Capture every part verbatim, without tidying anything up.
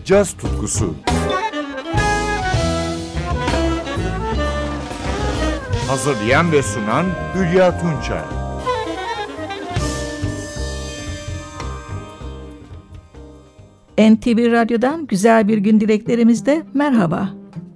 caz tutkusu. Hazırlayan ve sunan Hülya Tunçay. N T V Radyo'dan güzel bir gün dileklerimizde merhaba.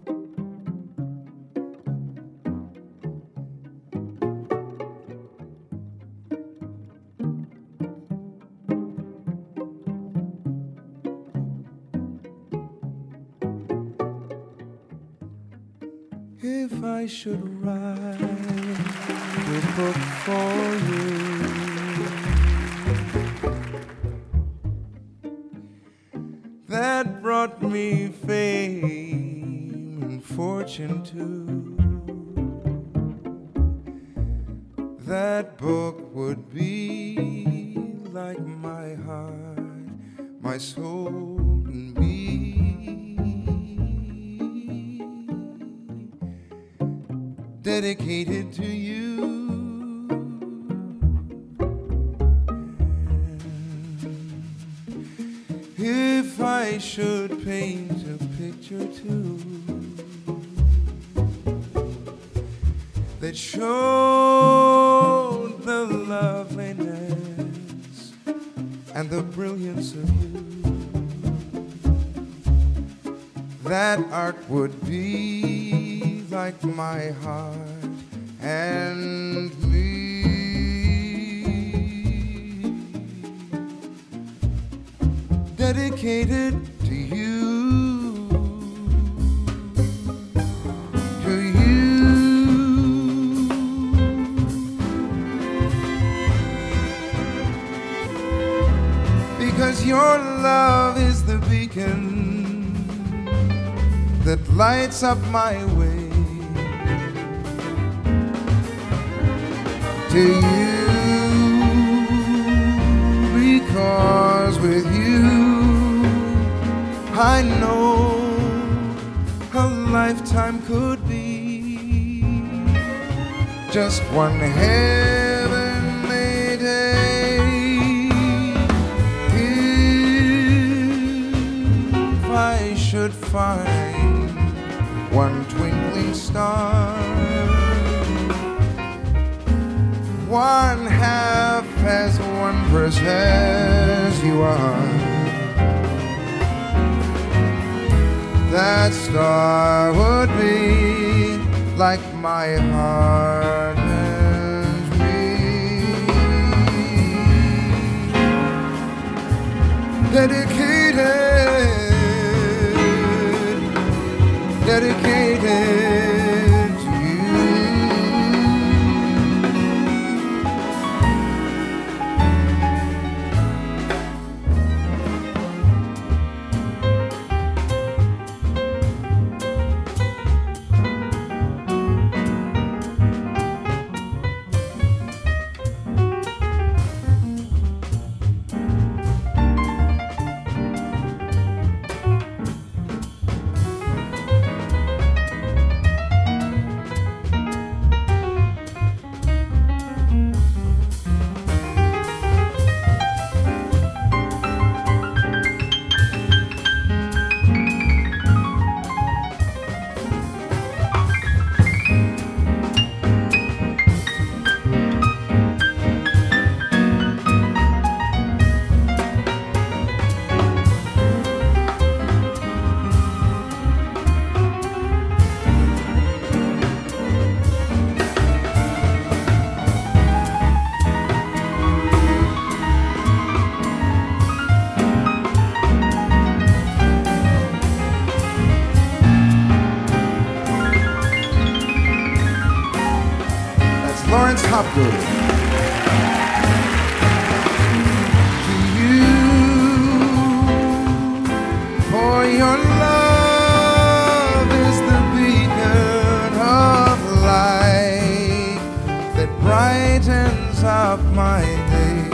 If I should write a book for you, that brought me fame and fortune too, that book would be like my heart, my soul and me. Dedicated to you. If I should paint a picture too that showed the loveliness and the brilliance of you, that art would be like my heart and me. Dedicated to you, to you. Because your love is the beacon that lights up my way. To you, because with you I know a lifetime could be just one heavenly day. If I should find one twinkling star, one half as wondrous as you are, that star would be like my heart and me. Dedicated, dedicated. Hopgood. To you, for your love is the beacon of light that brightens up my day.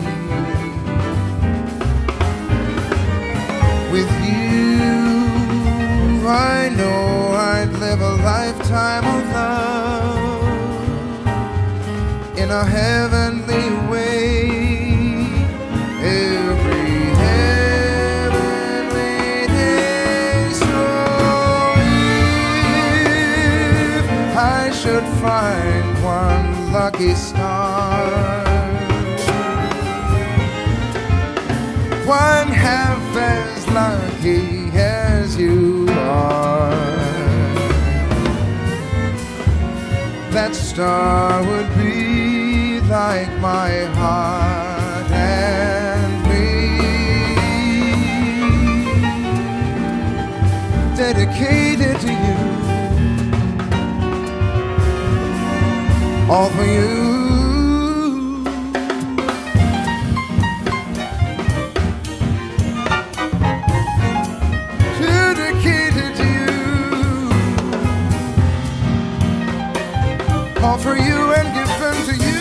With you, I know I'd live a lifetime of love in a heavenly way. Every heavenly day. could find one lucky star, one half as lucky as you are, that star would be like my heart and me, dedicated to you, all for you. Dedicated to you, all for you and given to you.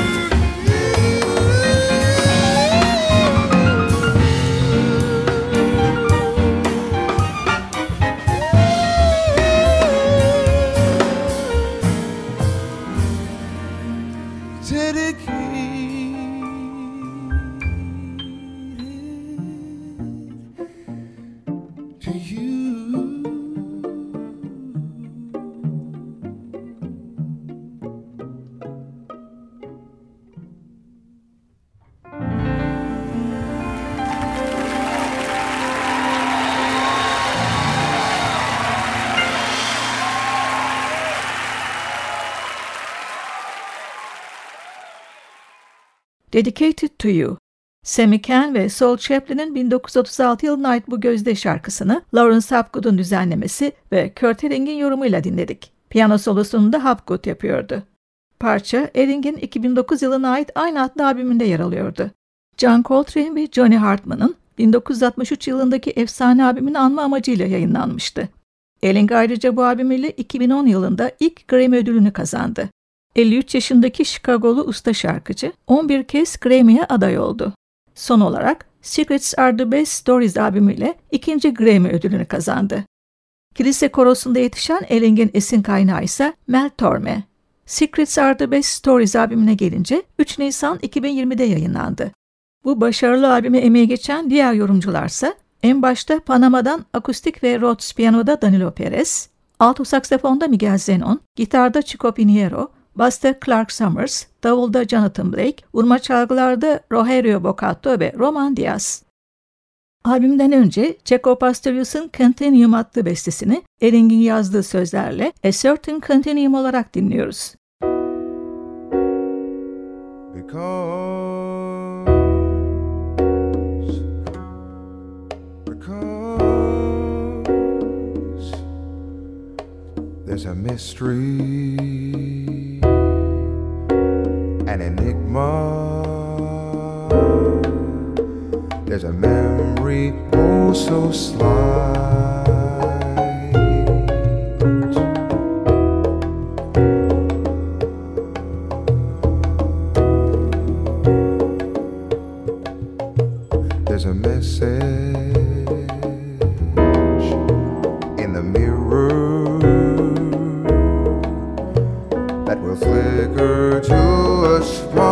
Dedicated to You. Sammy Cahn ve Saul Chaplin'in bin dokuz yüz otuz altı yılına ait bu gözde şarkısını Lawrence Hapgood'un düzenlemesi ve Kurt Eling'in yorumuyla dinledik. Piyano solosunu da Hapgood yapıyordu. Parça Eling'in iki bin dokuz yılına ait aynı adlı albümünde yer alıyordu. John Coltrane ve Johnny Hartman'ın bin dokuz yüz altmış üç yılındaki efsane albümünü anma amacıyla yayınlanmıştı. Eling ayrıca bu albümüyle iki bin on yılında ilk Grammy ödülünü kazandı. elli üç yaşındaki Chicago'lu usta şarkıcı on bir kez Grammy'ye aday oldu. Son olarak Secrets Are The Best Stories albümüyle ikinci Grammy ödülünü kazandı. Kilise korosunda yetişen Eling'in esin kaynağı ise Mel Torme. Secrets Are The Best Stories albümüne gelince üç Nisan iki bin yirmide yayınlandı. Bu başarılı albüme emeği geçen diğer yorumcularsa en başta Panama'dan akustik ve Rhodes piyanoda Danilo Perez, alto saksafonda Miguel Zenon, gitarda Chico Pinheiro, basta Clark Summers, davulda Jonathan Blake, vurma çalgılarda Rogerio Boccatto ve Roman Diaz. Albümden önce Jaco Pastorius'un Continuum adlı bestesini Eling'in yazdığı sözlerle A Certain Continuum olarak dinliyoruz. Because, because there's a mystery, an enigma, there's a memory oh so slight, there's a message in the mirror that will flicker to a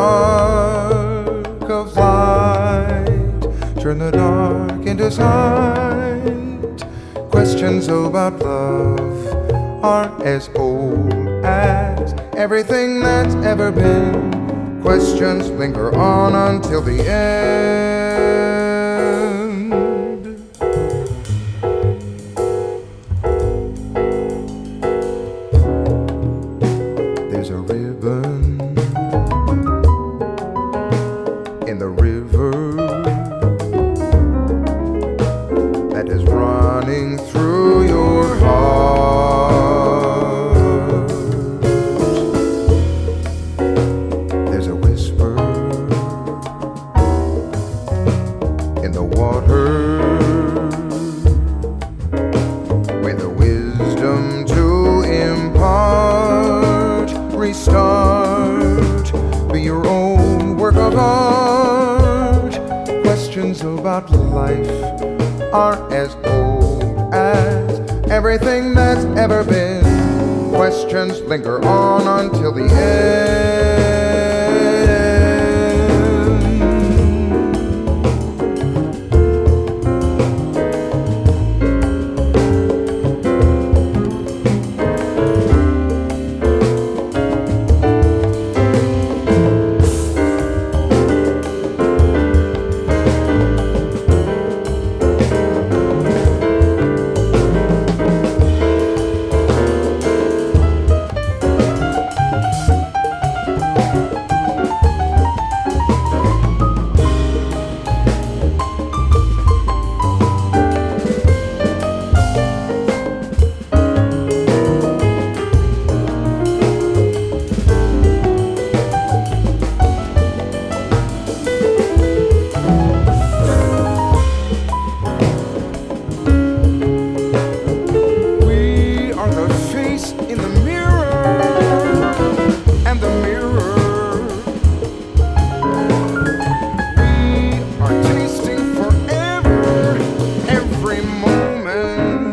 spark of light, turn the dark into sight. Questions about love are as old as everything that's ever been. Questions linger on until the end. There's a ribbon in the river that is running through your heart. There's a whisper in the water with the wisdom to impart. Restart, be your own work of art. Questions about life are as old as everything that's ever been. Questions linger on until the end. every moment.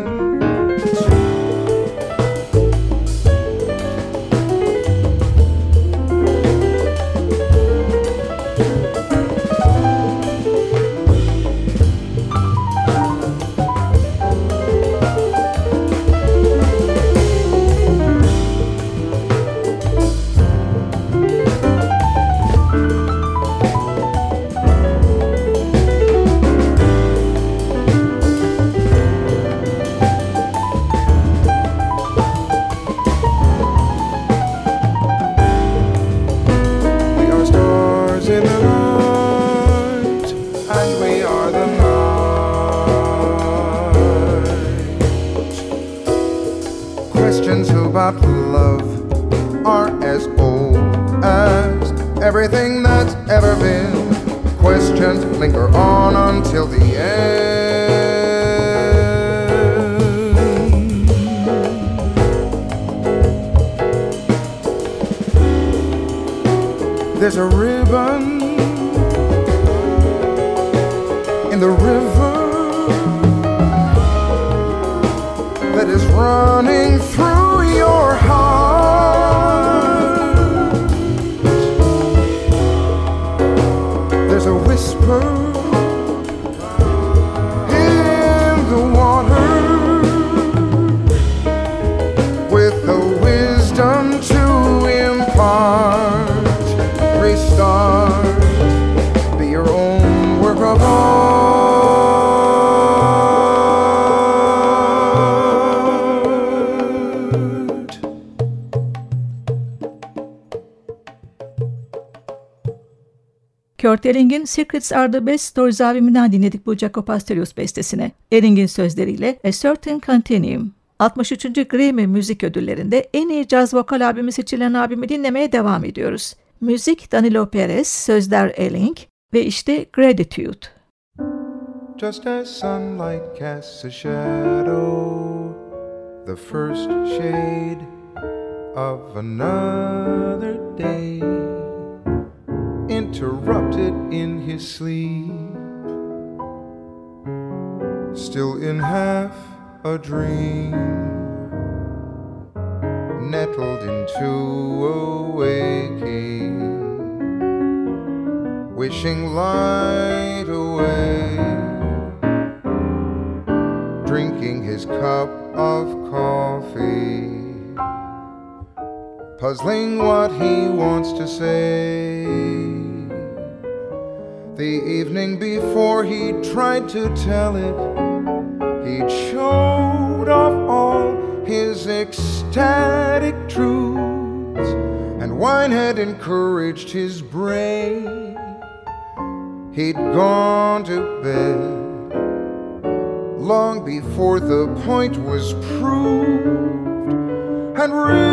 Questions about love are as old as everything that's ever been. Questions linger on until the end. There's a ribbon in the river that is running through your heart. There's a whisper in the water with the wisdom to impart. Restart, be your own work of art. Kurt Elling'in Secrets Are The Best Stories albümünden dinledik bu Jaco Pastorius bestesine. Elling'in sözleriyle A Certain Continuum. altmış üçüncü Grammy Müzik Ödülleri'nde en iyi caz vokal albümü seçilen albümü dinlemeye devam ediyoruz. Müzik Danilo Perez, sözler Elling ve işte Gratitude. Just as sunlight casts a shadow, the first shade of another day, interrupted in his sleep, still in half a dream, nettled into a waking, wishing light away, drinking his cup of coffee, puzzling what he wants to say. The evening before he tried to tell it, he'd showed off all his ecstatic truths, and wine had encouraged his brain. He'd gone to bed long before the point was proved, and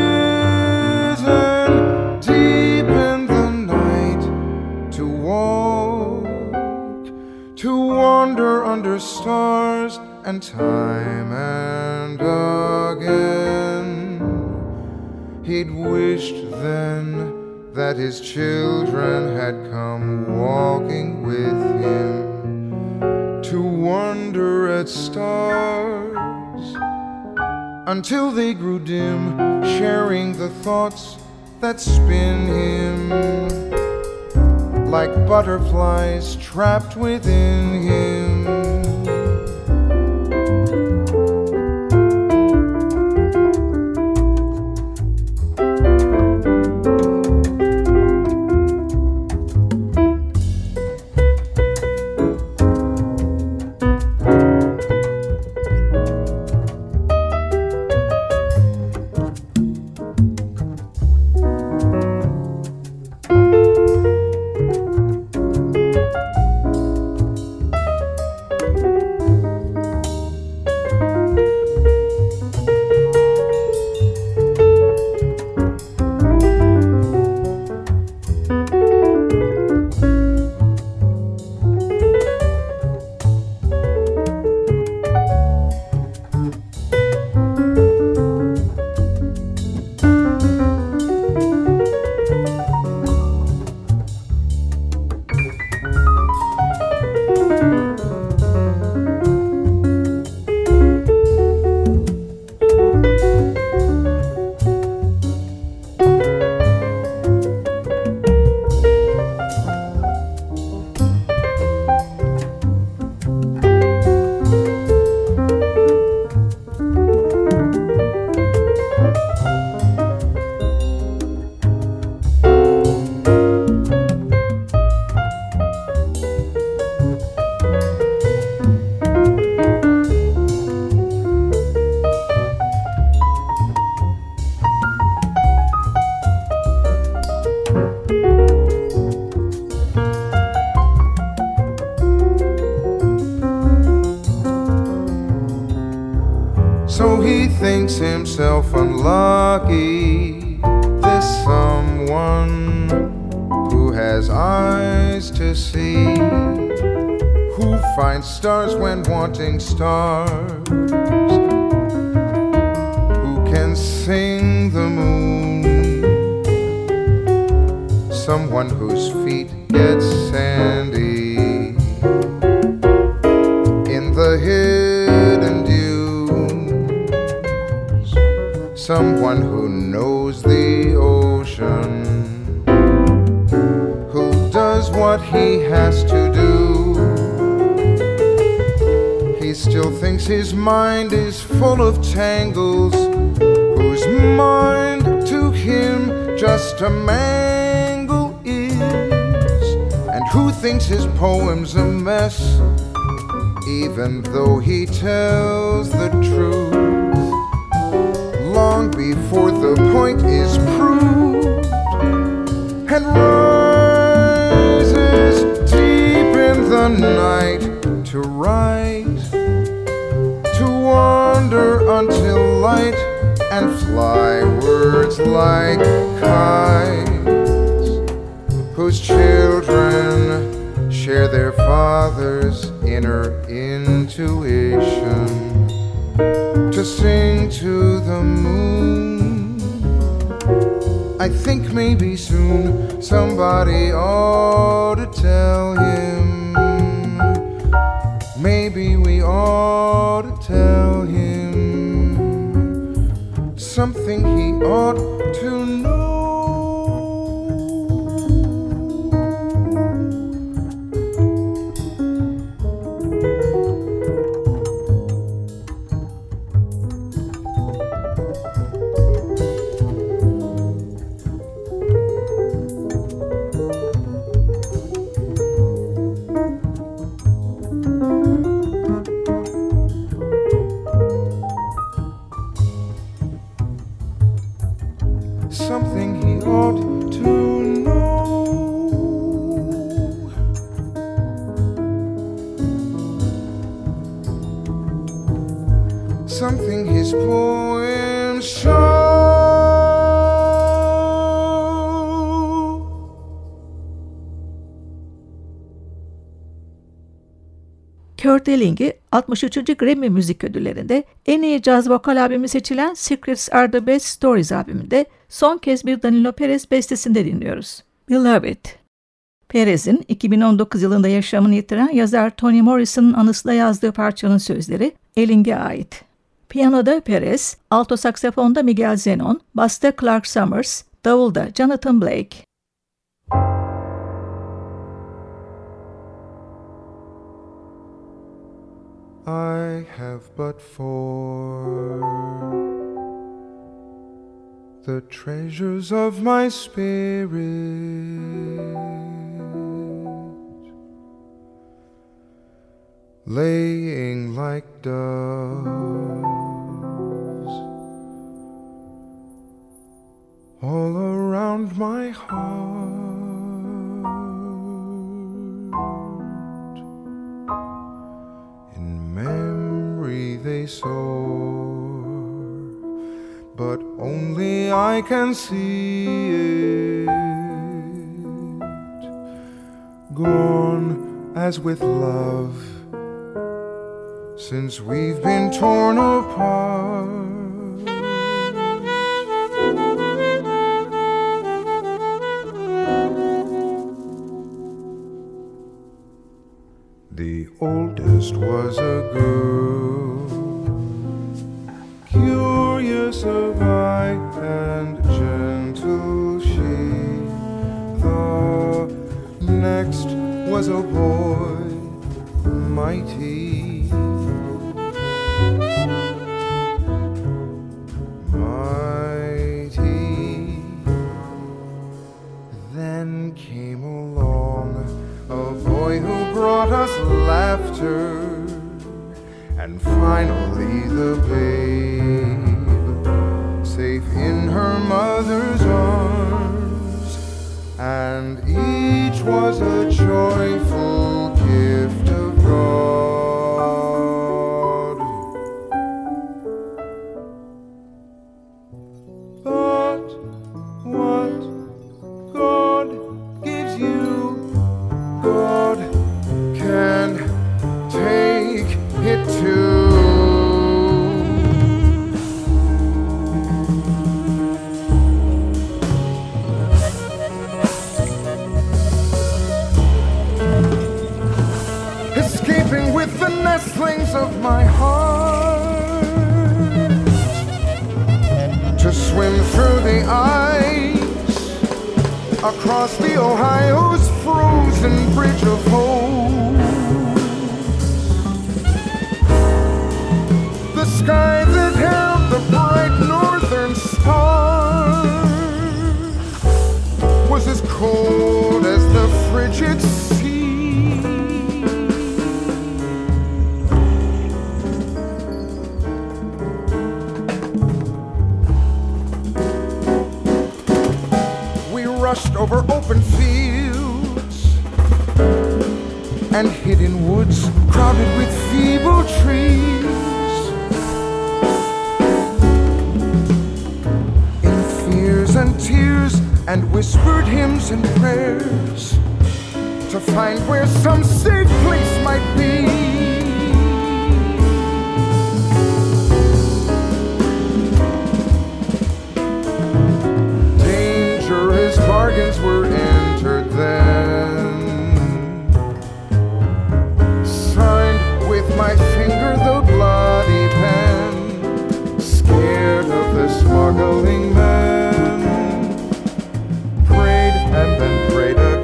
risen deep in the night to walk, to wander under stars and time and again. He'd wished then that his children had come walking with him to wonder at stars until they grew dim, sharing the thoughts that spin him like butterflies trapped within him. thinks himself unlucky. This someone who has eyes to see, who finds stars when wanting stars, who can sing the moon, someone whose feet get sandy in the hidden dunes, someone who knows the ocean, who does what he has to do. He still thinks his mind is full of tangles, whose mind to him just a mangle is, and who thinks his poem's a mess, even though he tells the truth long before the point is proved, and rises deep in the night to write, to wander until light, and fly words like kites, whose children share their father's inner intuition, to sing to the moon. I think maybe soon somebody ought to tell him, maybe we ought to tell him something he ought to know. Something he ought to know. Something his poems show. Kurt Elling'i altmış üçüncü Grammy Müzik Ödülleri'nde en iyi caz vokal albümü seçilen Secrets Are The Best Stories albümünde son kez bir Danilo Perez bestesinde dinliyoruz. Beloved. Perez'in iki bin on dokuz yılında yaşamını yitiren yazar Toni Morrison'ın anısına yazdığı parçanın sözleri Elling'e ait. Piyanoda Perez, alto saksafonda Miguel Zenon, basta Clark Summers, davulda Jonathan Blake. I have but four, the treasures of my spirit, laying like doves all around my heart. In memory they soar, but only I can see it, gone as with love, since we've been torn apart. The oldest was a girl, curious of eye and gentle she. The next was a boy, mighty, mighty. Then came along a boy who brought us laughter, and finally the babe, safe in her mother's arms, and each was a joyful gift of God. wings of my heart to swim through the ice across the Ohio's frozen bridge of hope. The sky that held the bright northern star was as cold as the frigid sea. We rushed over open fields and hid in woods crowded with feeble trees. In fears and tears and whispered hymns and prayers to find where some safe place might be. Dangerous bargains were entered then, signed with my finger the bloody pen, scared of the smuggling men, prayed and then prayed again.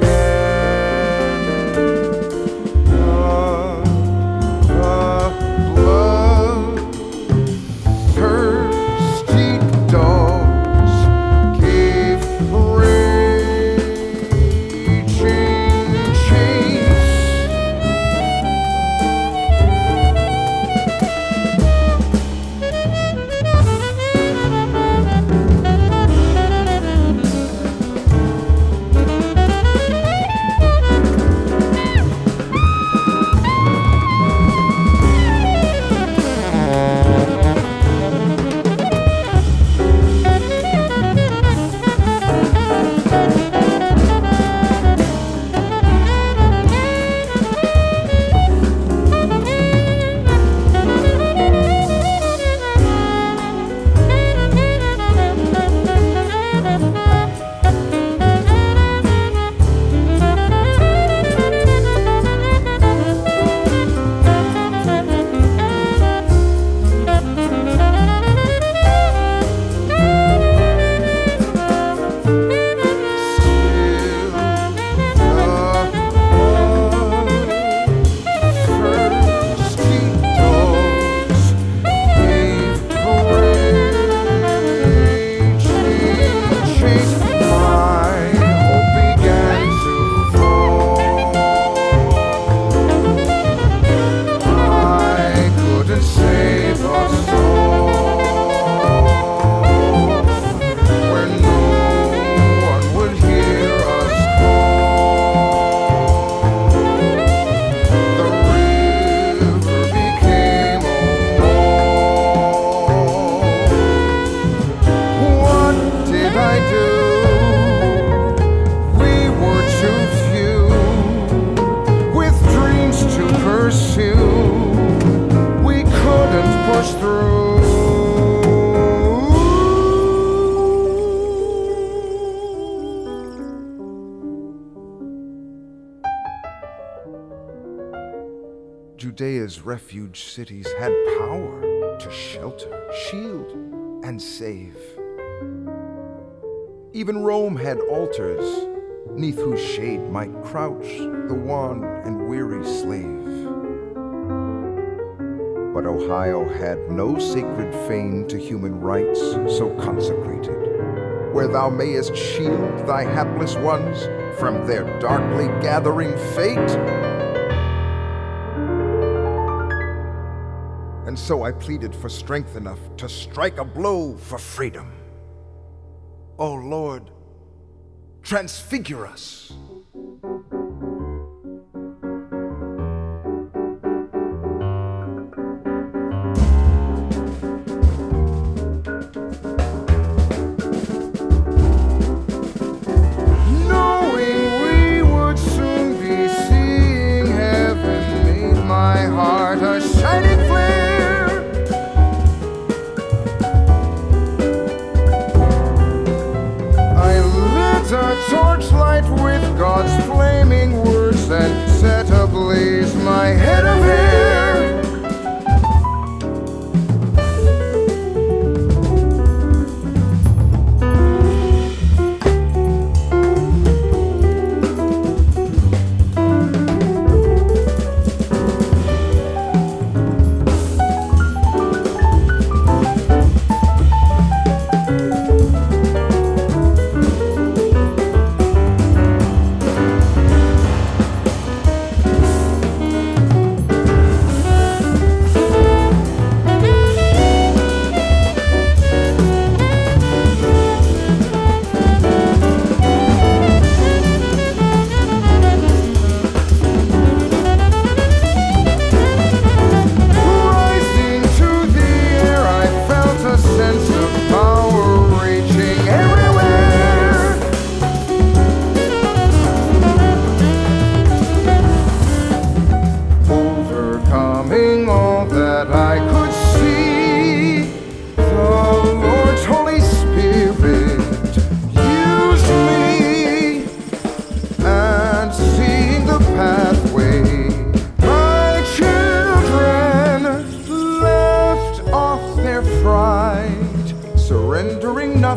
Judea's refuge cities had power to shelter, shield, and save. Even Rome had altars, neath whose shade might crouch the wan and weary slave. But Ohio had no sacred fane to human rights so consecrated, where thou mayest shield thy hapless ones from their darkly gathering fate. And so I pleaded for strength enough to strike a blow for freedom. Oh Lord, transfigure us. Knowing we would soon be seeing heaven made my heart a shining flame. A torchlight with God.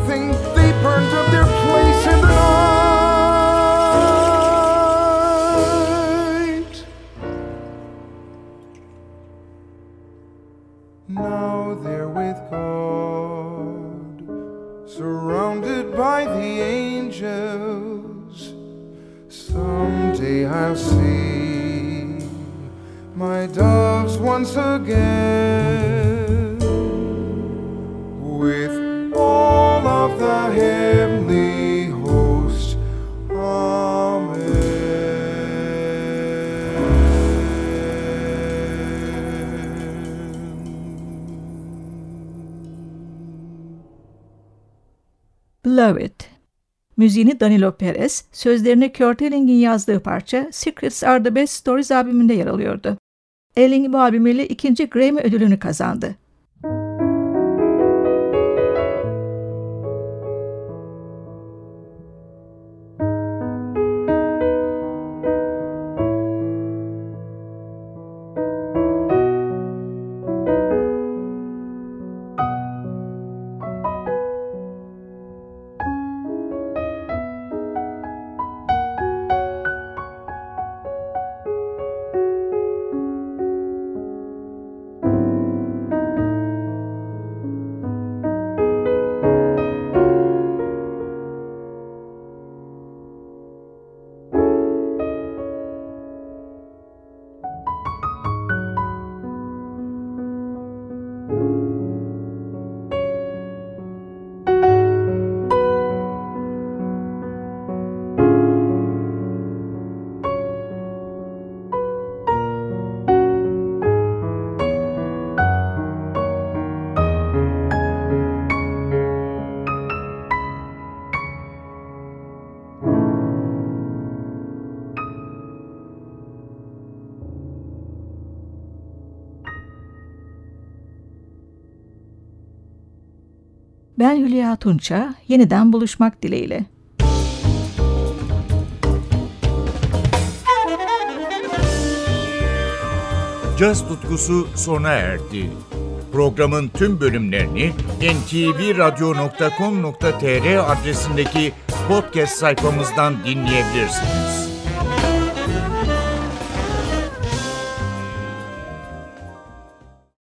nothing, they burned up their place in the night. Now they're with God, surrounded by the angels. Someday I'll see my doves once again, with all of the heavenly host. Amen. Blow It. Müziğini Danilo Perez, sözlerini Kurt Elling'in yazdığı parça Secrets Are The Best Stories albümünde yer alıyordu. Elling bu albümüyle ikinci Grammy ödülünü kazandı. Ben Hülya Tunça, yeniden buluşmak dileğiyle. Caz tutkusu sona erdi. Programın tüm bölümlerini en te ve radyo nokta com nokta tr adresindeki podcast sayfamızdan dinleyebilirsiniz.